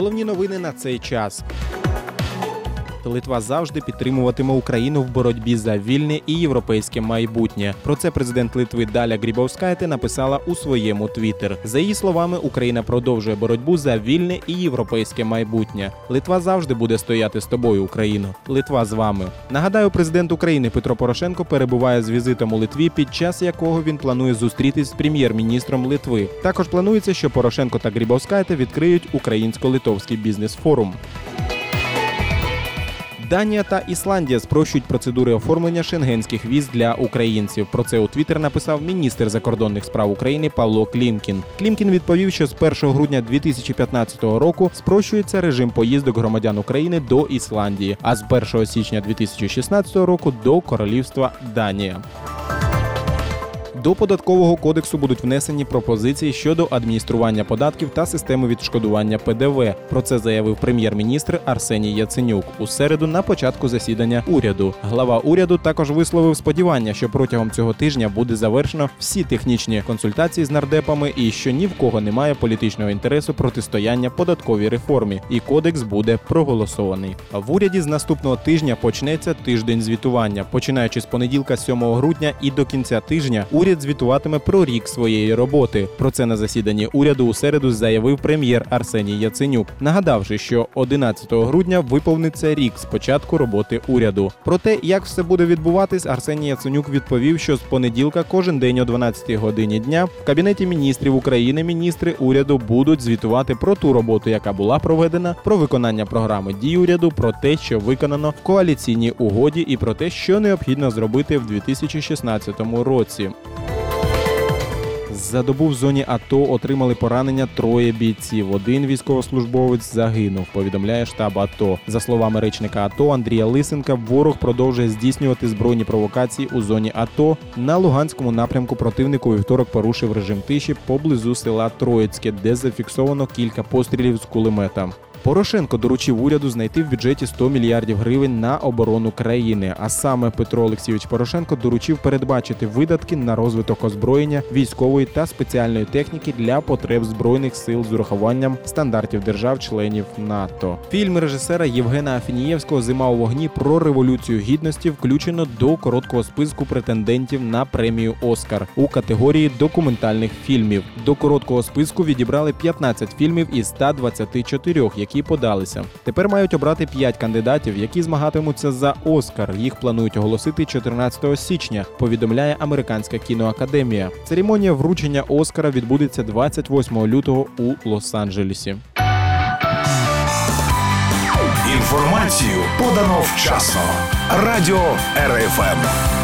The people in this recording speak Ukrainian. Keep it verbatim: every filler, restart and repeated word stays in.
Головні новини на цей час. Литва завжди підтримуватиме Україну в боротьбі за вільне і європейське майбутнє. Про це президент Литви Даля Грибаускайте написала у своєму твіттер. За її словами, Україна продовжує боротьбу за вільне і європейське майбутнє. Литва завжди буде стояти з тобою, Україно. Литва з вами. Нагадаю, президент України Петро Порошенко перебуває з візитом у Литві, під час якого він планує зустрітись з прем'єр-міністром Литви. Також планується, що Порошенко та Грибаускайте відкриють українсько-литовський бізнес-форум. Данія та Ісландія спрощують процедури оформлення шенгенських віз для українців. Про це у Твіттер написав міністр закордонних справ України Павло Клімкін. Клімкін відповів, що з першого грудня дві тисячі п'ятнадцятого року спрощується режим поїздок громадян України до Ісландії, а з першого січня дві тисячі шістнадцятого року до Королівства Данія. До Податкового кодексу будуть внесені пропозиції щодо адміністрування податків та системи відшкодування Пе Де Ве. Про це заявив прем'єр-міністр Арсеній Яценюк у середу на початку засідання уряду. Глава уряду також висловив сподівання, що протягом цього тижня буде завершено всі технічні консультації з нардепами і що ні в кого немає політичного інтересу протистояння податковій реформі, і кодекс буде проголосований. В уряді з наступного тижня почнеться тиждень звітування. Починаючи з понеділка сьомого грудня і до кінця тижня, уряд звітуватиме про рік своєї роботи. Про це на засіданні уряду у середу заявив прем'єр Арсеній Яценюк, нагадавши, що одинадцятого грудня виповниться рік з початку роботи уряду. Про те, як все буде відбуватись, Арсеній Яценюк відповів, що з понеділка кожен день о дванадцятій годині дня в Кабінеті міністрів України міністри уряду будуть звітувати про ту роботу, яка була проведена, про виконання програми дій уряду, про те, що виконано в коаліційній угоді і про те, що необхідно зробити в дві тисячі шістнадцятому році. За добу в зоні АТО отримали поранення троє бійців. Один військовослужбовець загинув, повідомляє штаб АТО. За словами речника АТО Андрія Лисенка, ворог продовжує здійснювати збройні провокації у зоні АТО. На Луганському напрямку противник у вівторок порушив режим тиші поблизу села Троїцьке, де зафіксовано кілька пострілів з кулемета. Порошенко доручив уряду знайти в бюджеті сто мільярдів гривень на оборону країни. А саме Петро Олексійович Порошенко доручив передбачити видатки на розвиток озброєння, військової та спеціальної техніки для потреб Збройних сил з урахуванням стандартів держав-членів НАТО. Фільм режисера Євгена Афінієвського «Зима у вогні» про Революцію Гідності включено до короткого списку претендентів на премію «Оскар» у категорії документальних фільмів. До короткого списку відібрали п'ятнадцять фільмів із ста двадцяти чотирьох, які які подалися. Тепер мають обрати п'ять кандидатів, які змагатимуться за «Оскар». Їх планують оголосити чотирнадцятого січня, повідомляє Американська кіноакадемія. Церемонія вручення «Оскара» відбудеться двадцять восьмого лютого у Лос-Анджелесі. Інформацію подано вчасно. Радіо Ер Еф Ем.